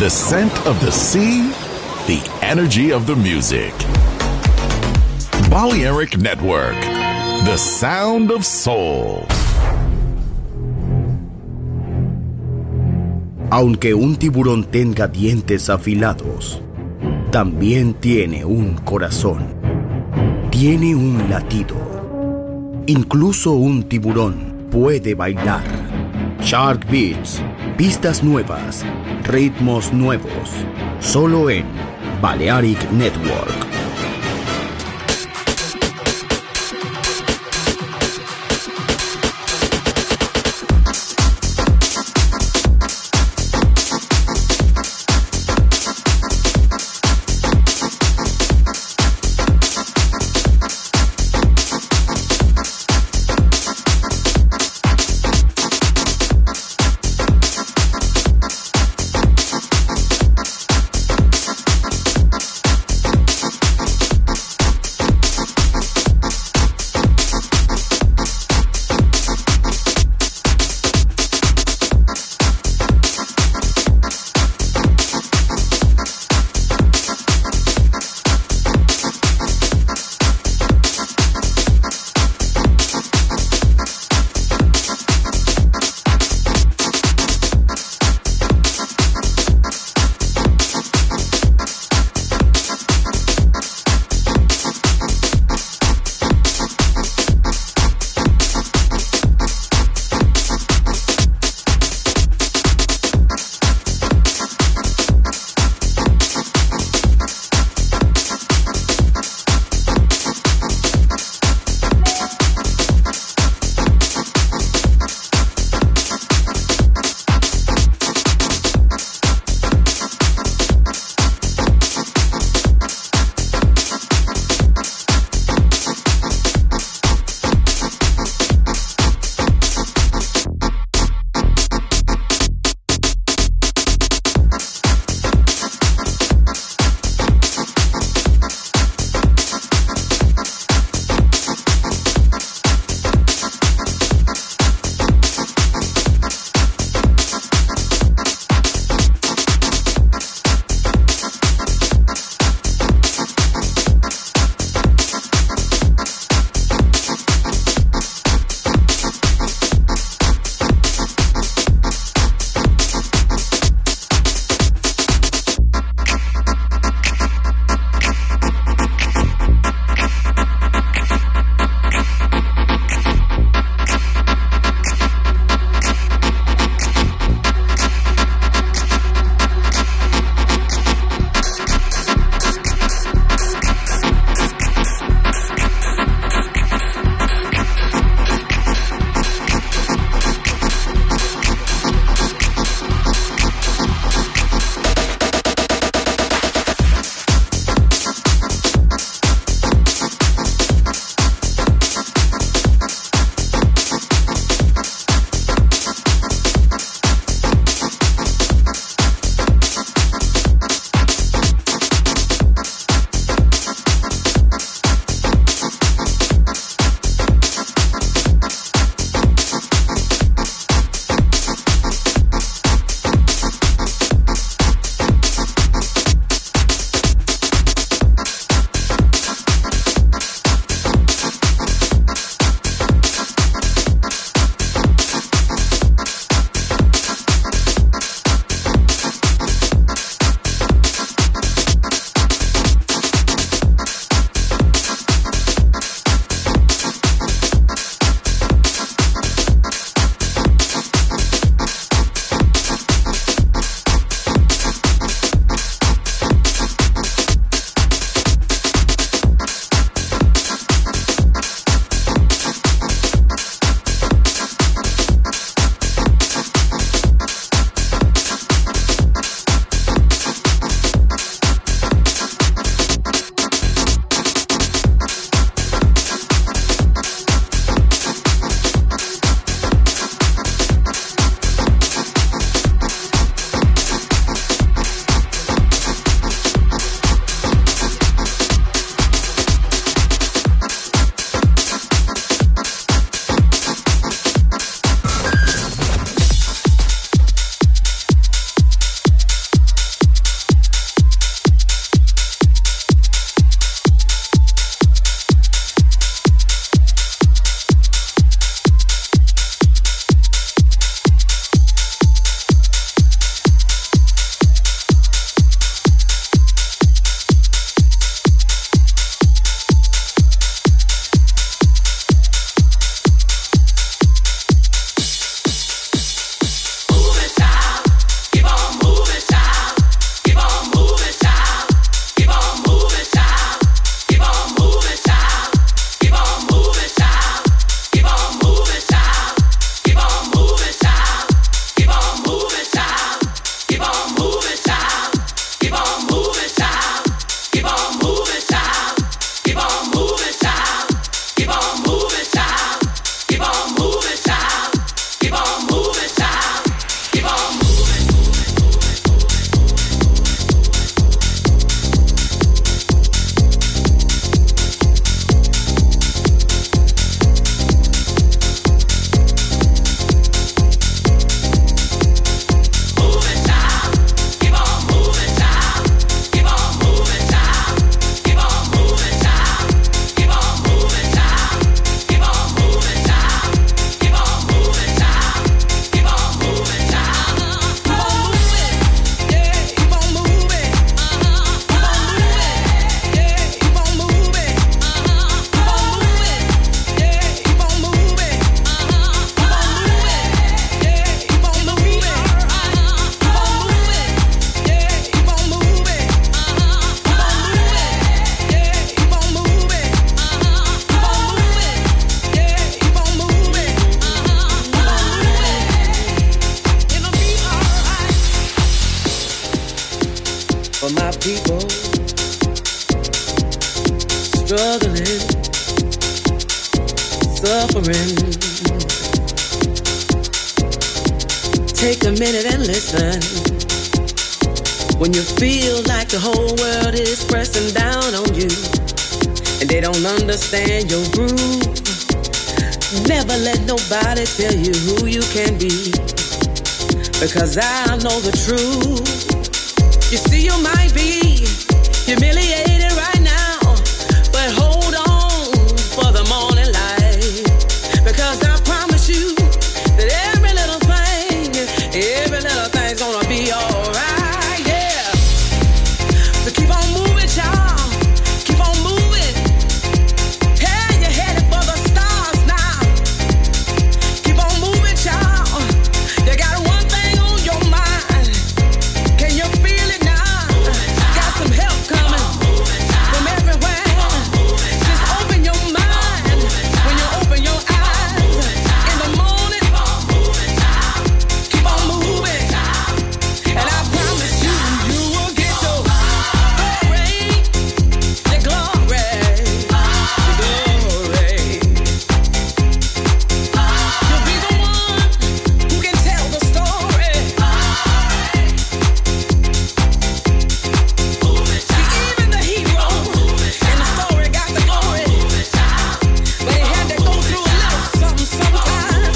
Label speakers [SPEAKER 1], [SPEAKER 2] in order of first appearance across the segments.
[SPEAKER 1] The scent of the sea, the energy of the music. Balearic Network, the sound of soul.
[SPEAKER 2] Aunque un tiburón tenga dientes afilados, también tiene un corazón. Tiene un latido. Incluso un tiburón puede bailar. Shark Beats, pistas nuevas, ritmos nuevos, solo en Balearic Network.
[SPEAKER 3] people struggling, suffering. Take a minute and listen. When you feel like the whole world is pressing down on you and they don't understand your groove, never let nobody tell you who you can be, because I know the truth. You see, you might be humiliated right now, but hold on for the morning light, because I promise you that every little thing's gonna be alright, yeah. So keep on moving, y'all. Keep on moving. Hey, you're headed for the stars now. Keep on moving, y'all. You got one thing on your mind. Can you feel it now? Got some help coming from everywhere. Just open your mind when you open your eyes in the morning. Keep on moving, and I promise you, you will get your glory, the glory, the glory. You'll be the one who can tell the story. See, even the hero in the story got the glory, but he had to go through a little something sometimes.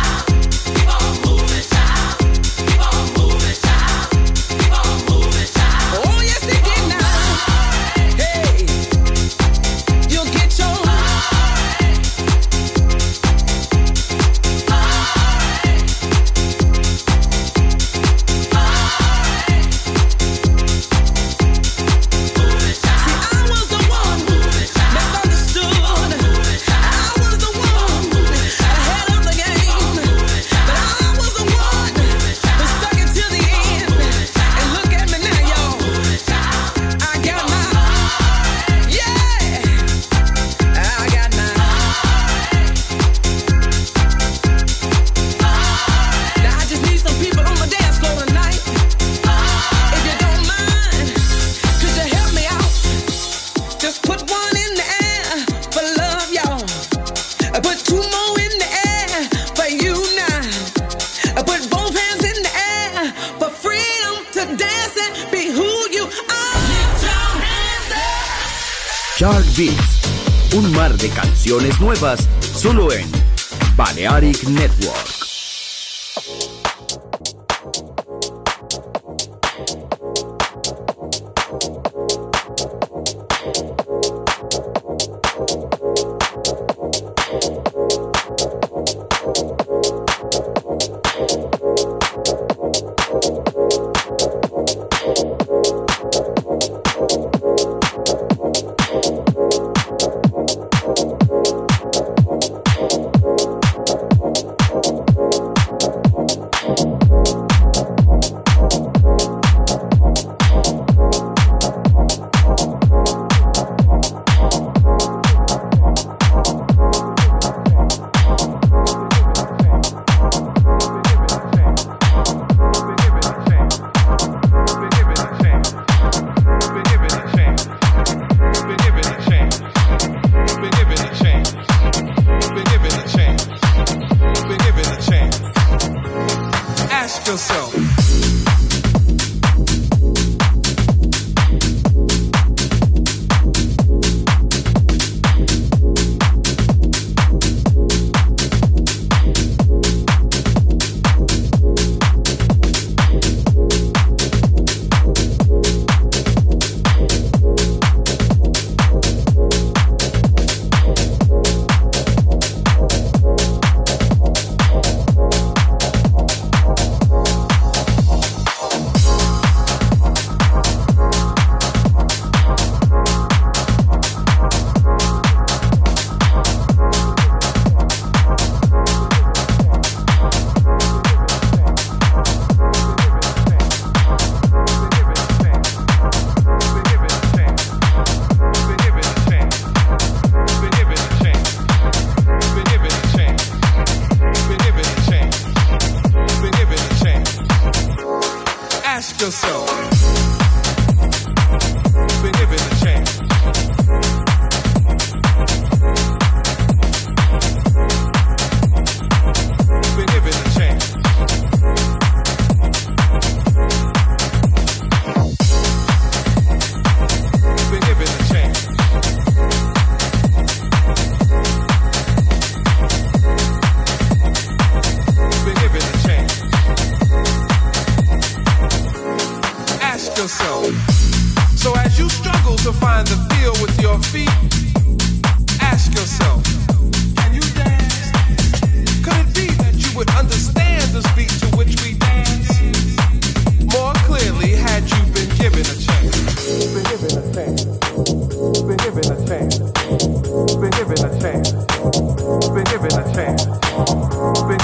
[SPEAKER 3] Oh, yes, he did now. Hey, you'll get your See, I was the one misunderstood. I was the one ahead of the game, but I was the one who stuck it till the end. And look at me now, y'all. I got my, yeah, I got my. Now I just need some people on the dance floor tonight. If you don't mind, could you help me out? Just put one in the air for love, y'all. Put two more in the air for you now. Put both hands in the air for freedom to dance and be who you are. Lift your hands up.
[SPEAKER 2] Shark Beats, un mar de canciones nuevas solo en Balearic Network.
[SPEAKER 4] Ask yourself. yourself.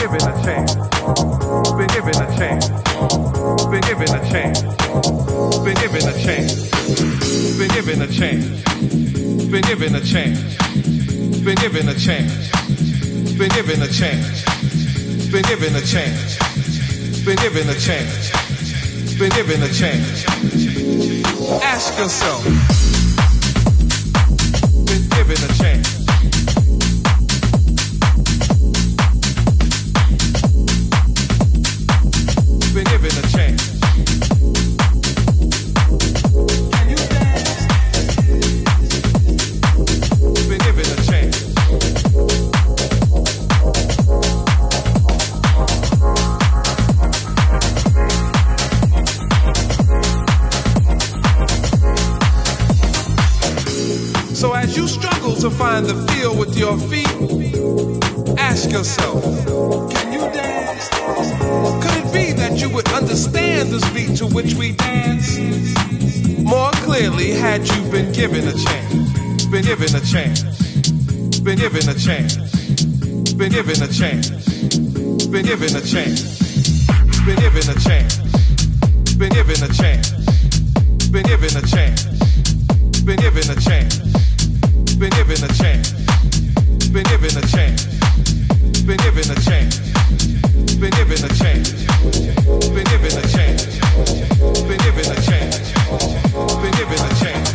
[SPEAKER 4] given a chance. Been given a chance. Been given a chance. Been given a chance. Been given a chance. Been given a chance. Been given a chance. Been given a chance. Been given a chance. Been given a chance. Been given a chance. Ask yourself. Been given a chance. Been given a chance. Can you dance? Been given a chance. So as you struggle to find the feel with your feet, ask yourself, can you dance? Could it be that you would understand the speed to which we dance more clearly had you been given a chance? Been given a chance. Been given a chance. Been given a chance. Been given a chance. Been given a chance. Been given a chance. Been given a chance. Been given a chance. Been given a chance. Been given a chance. Been given a chance. Been given a chance. Been given a chance. Been given a chance. Been given a chance.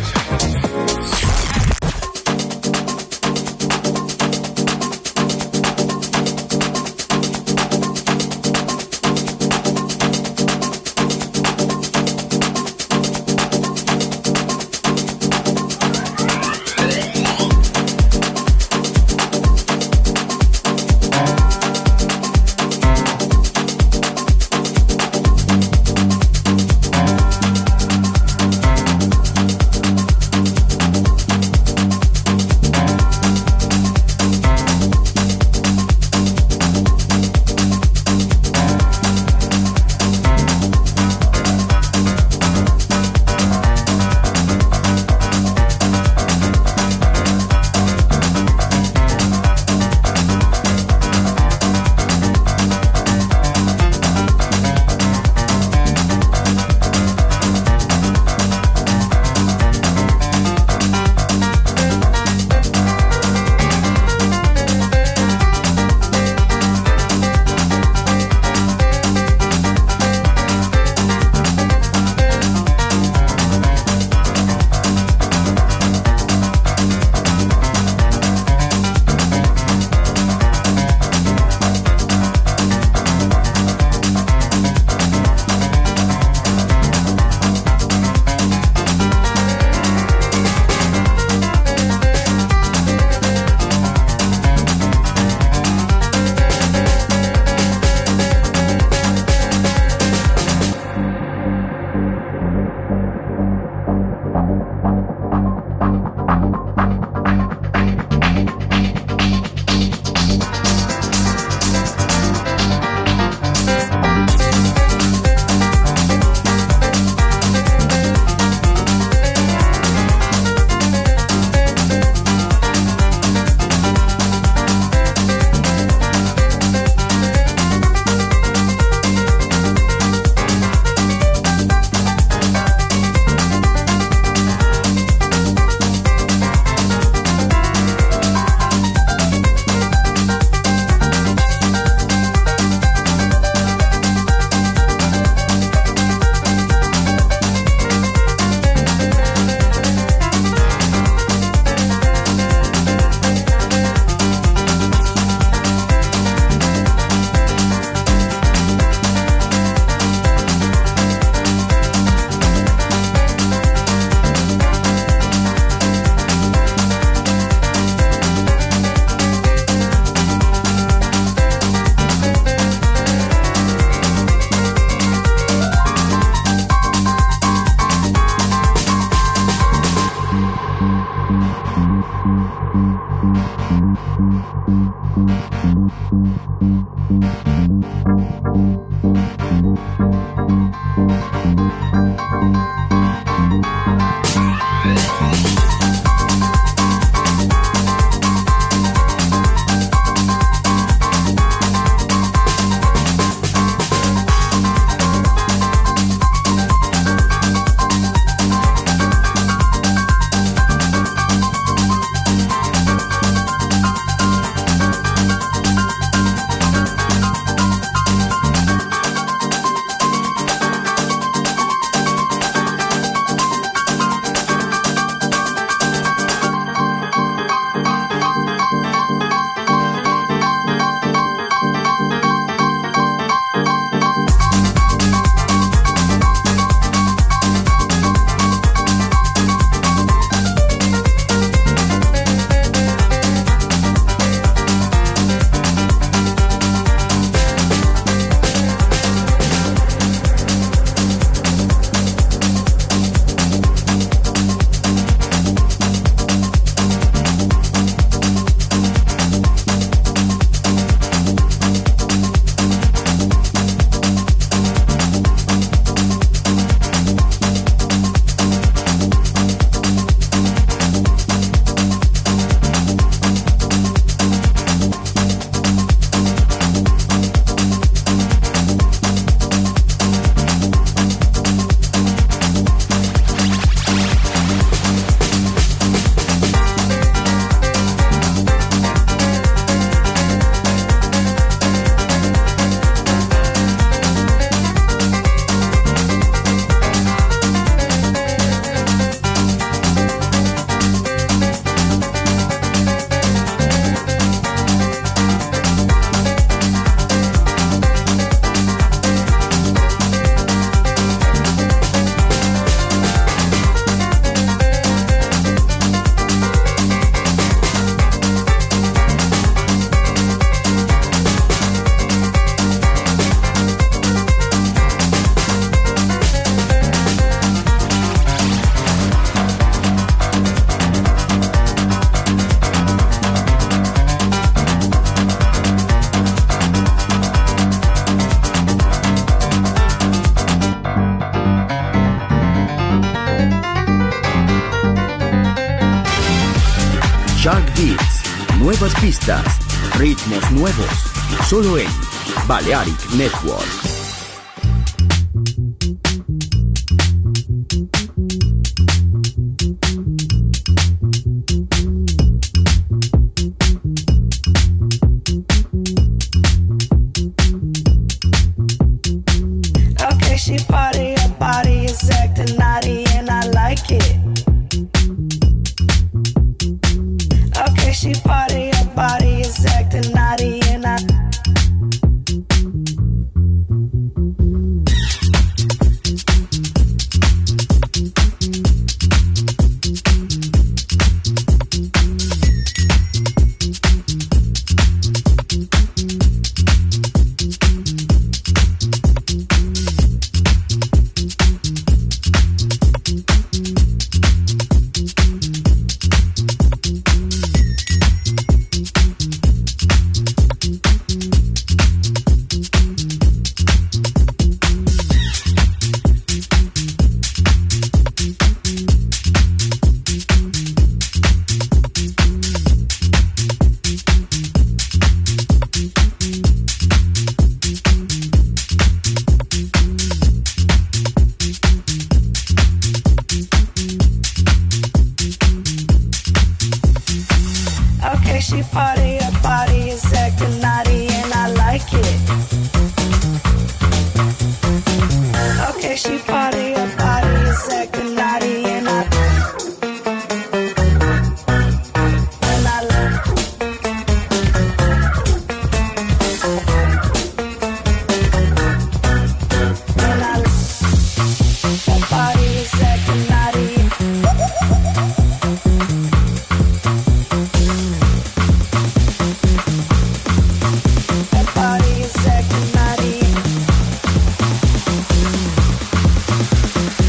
[SPEAKER 2] pistas, ritmos nuevos, solo en Balearic Network.
[SPEAKER 3] Okay, she party, her body is acting naughty and I like it. Okay, she party, her body is acting naughty and I okay, she party, her body is acting naughty and I like it. Okay, she party, her body is acting naughty and I like her body is acting naughty. Her body is acting naughty.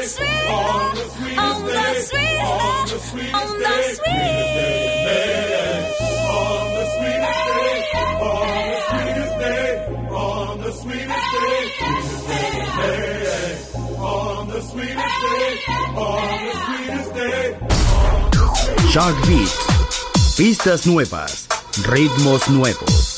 [SPEAKER 5] sweet, on the sweetest day, on the sweetest day, on the sweetest day, on the sweetest day, on the sweetest day, on the sweetest day.
[SPEAKER 2] Shark Beats, pistas nuevas, ritmos nuevos.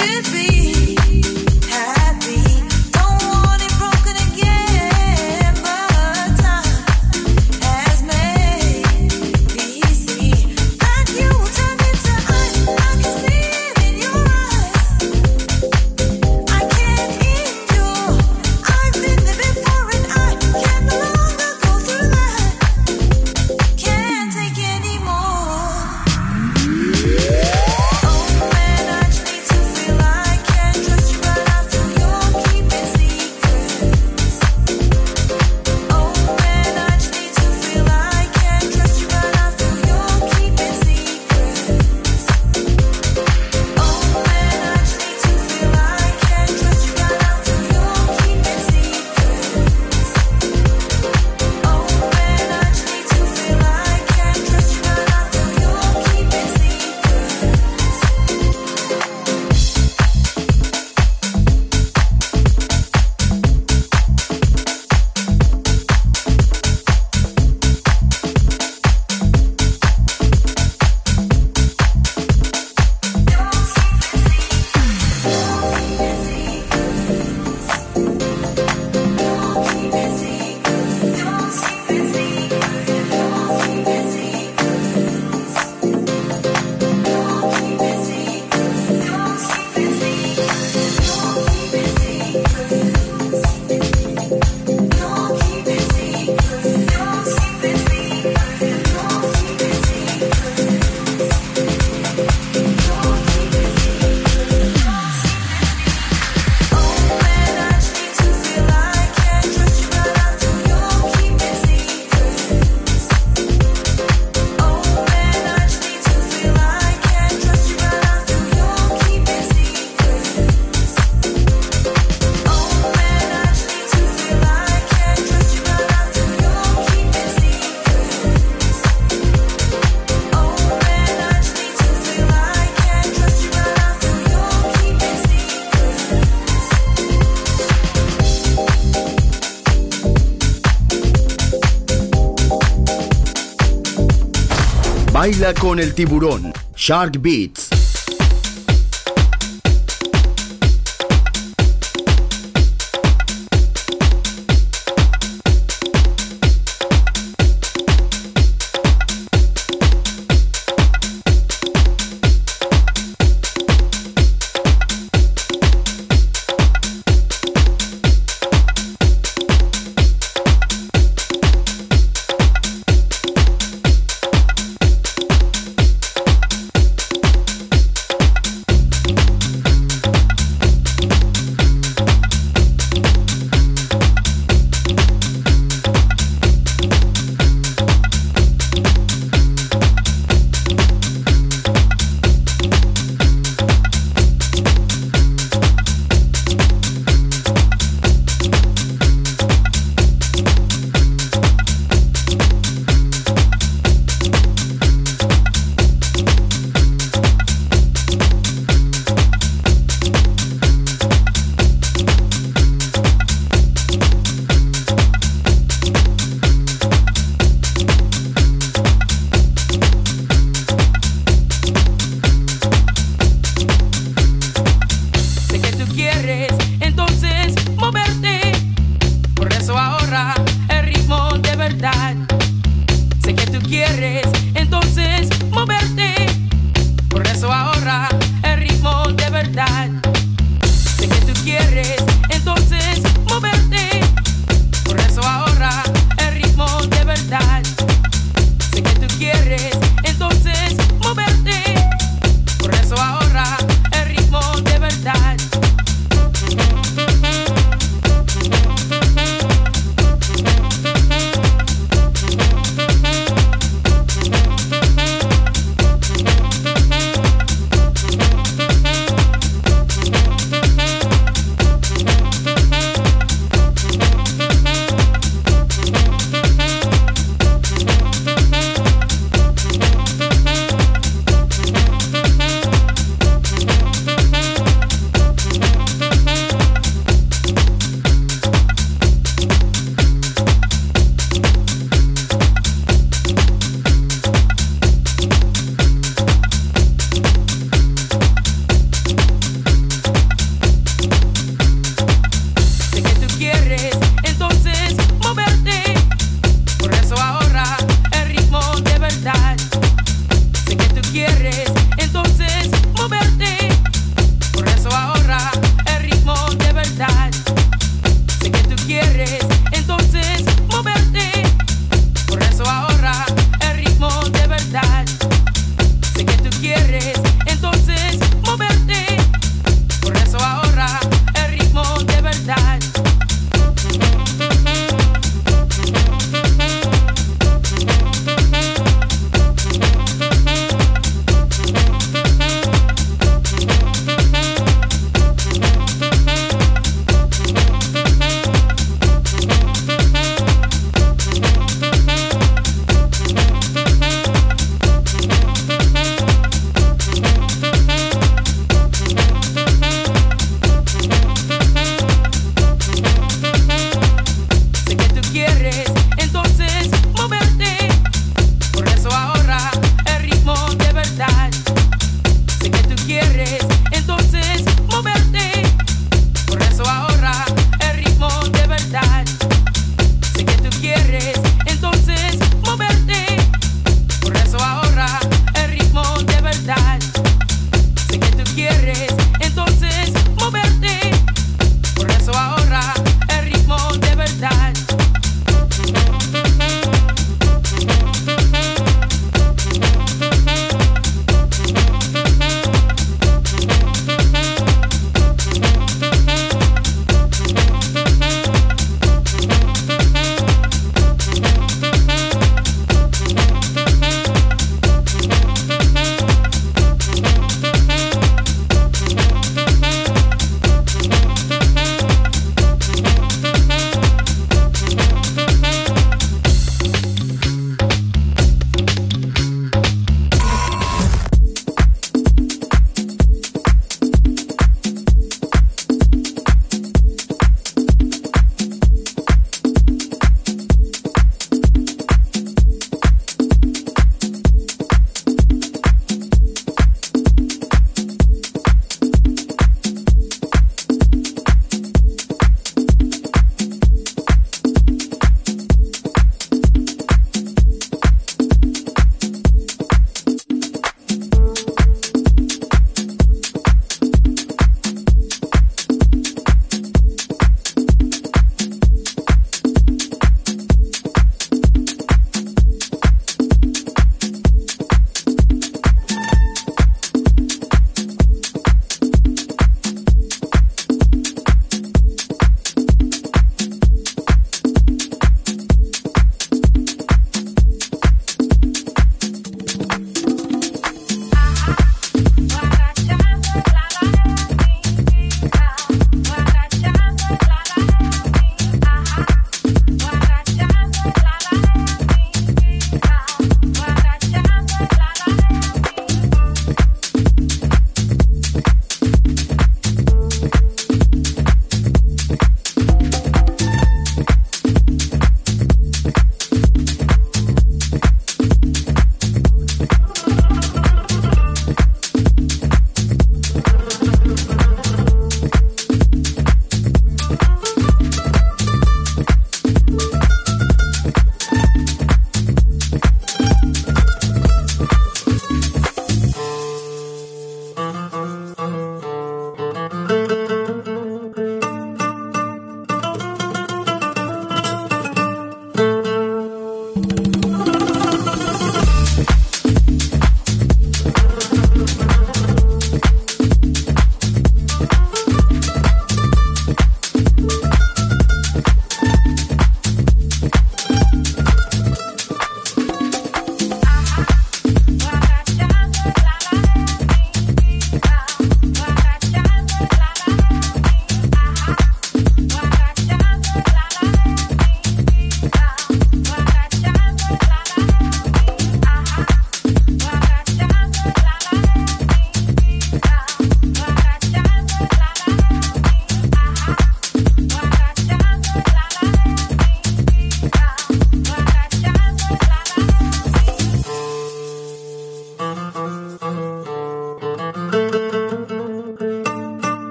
[SPEAKER 2] Baila con el tiburón. Shark Beats.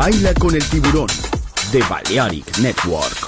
[SPEAKER 2] Baila con el tiburón de Balearic Network.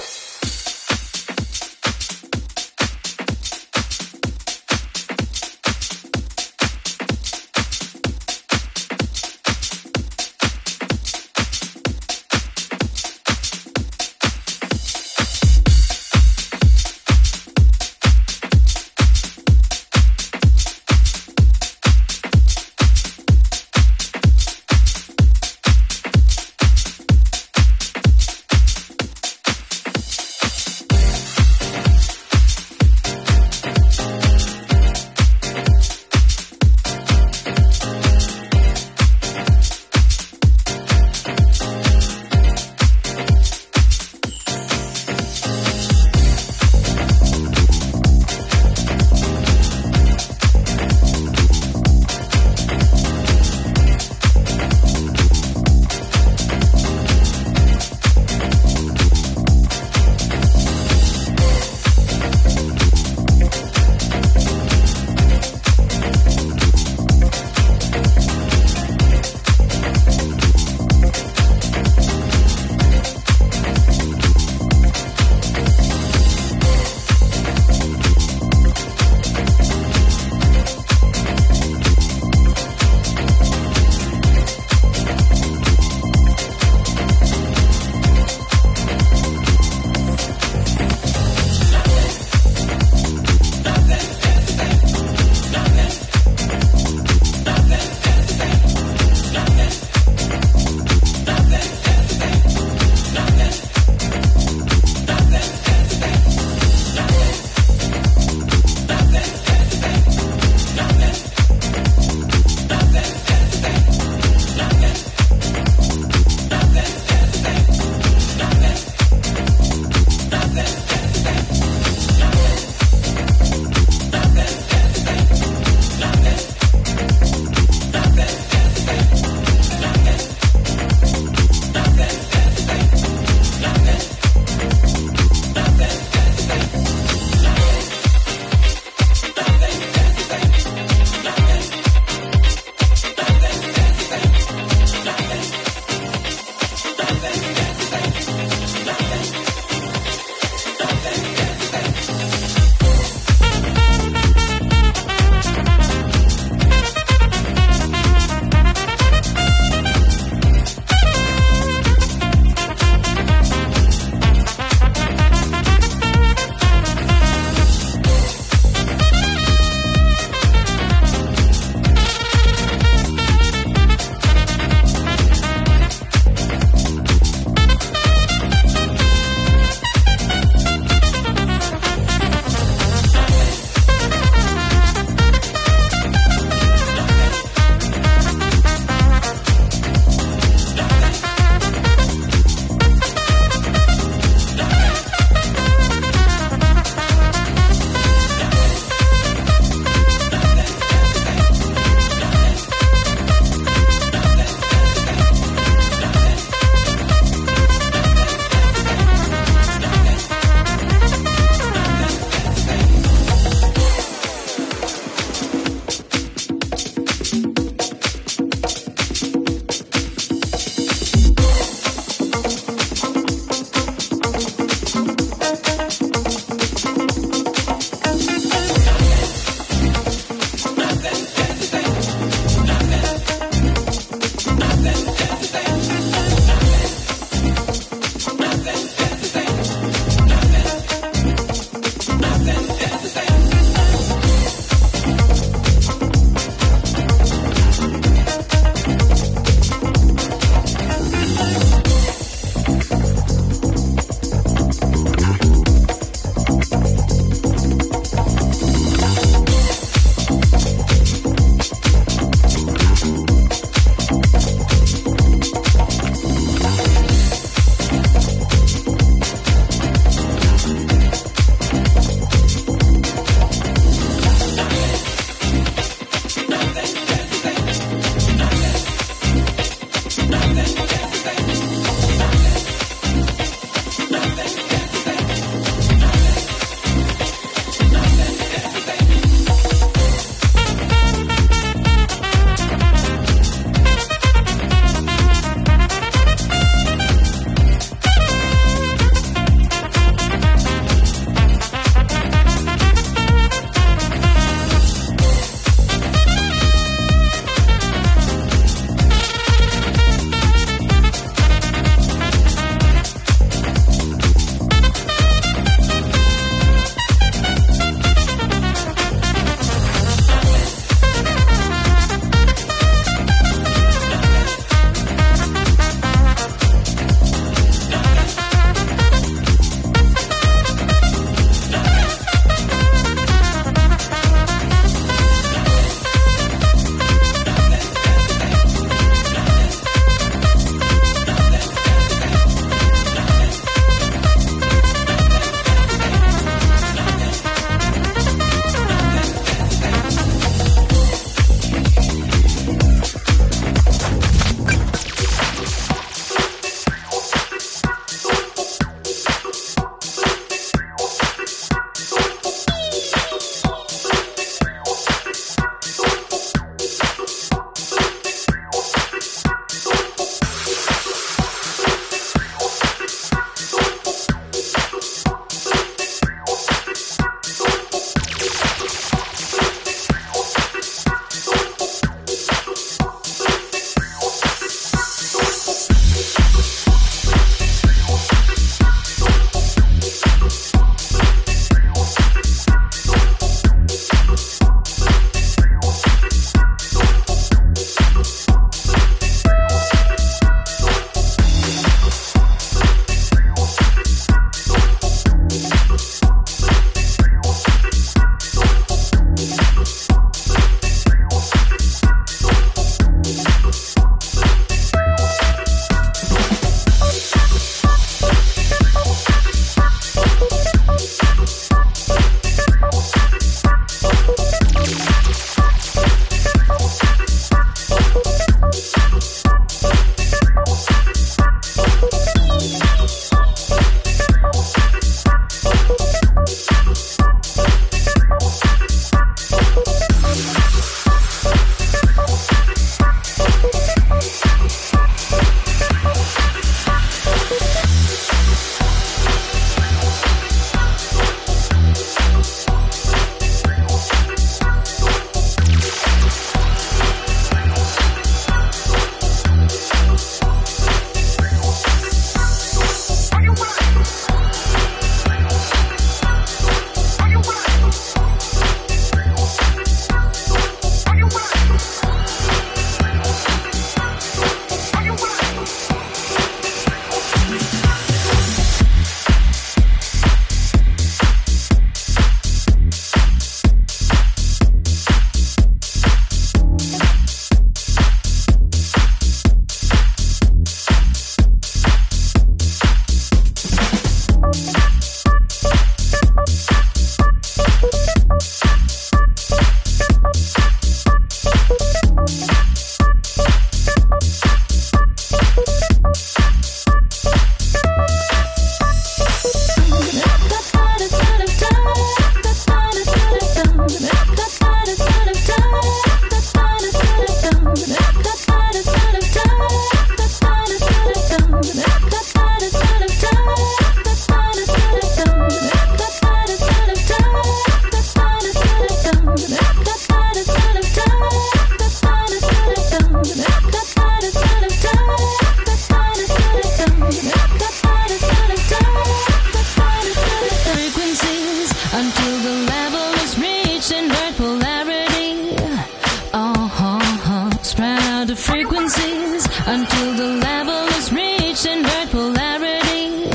[SPEAKER 5] out the frequencies until the level is reached invert polarity.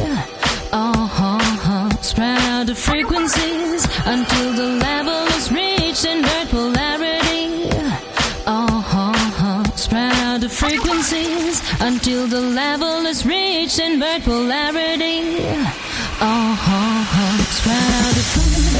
[SPEAKER 5] Spread out the frequencies until the level is reached invert polarity. Spread out the frequencies until the level is reached invert polarity. Spread out the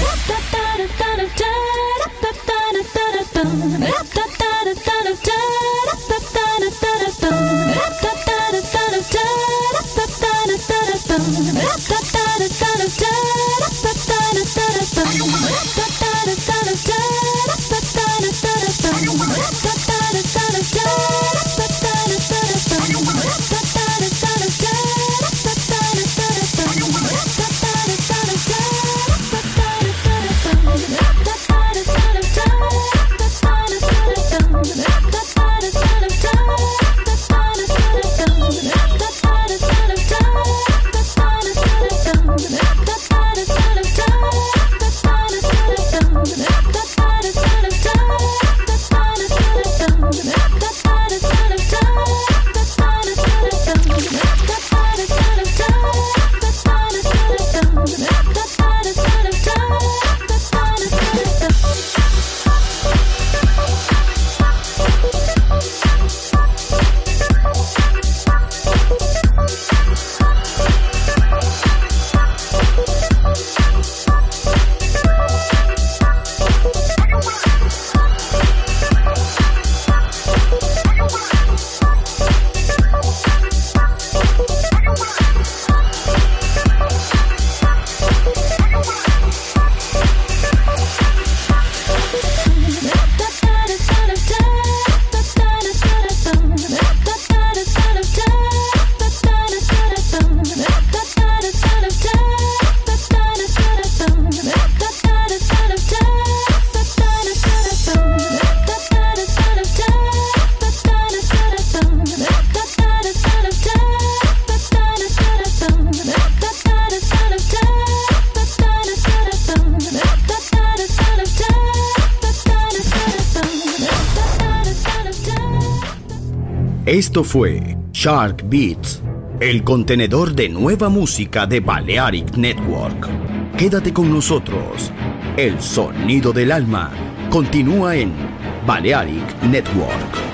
[SPEAKER 2] Esto fue Shark Beats, el contenedor de nueva música de Balearic Network. Quédate con nosotros. El sonido del alma continúa en Balearic Network.